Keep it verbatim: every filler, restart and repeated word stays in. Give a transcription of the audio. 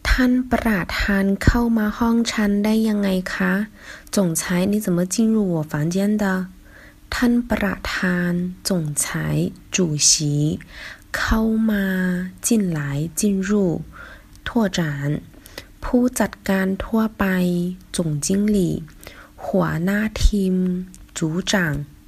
ท่านประธานเข้ามาห้องฉันได้ยังไงคะ总裁你怎么进入我房间的ท่านประธาน总裁主席เข้ามา进来进入拓展ผู้จัดการทั่วไป总经理หัวหน้าทีม组长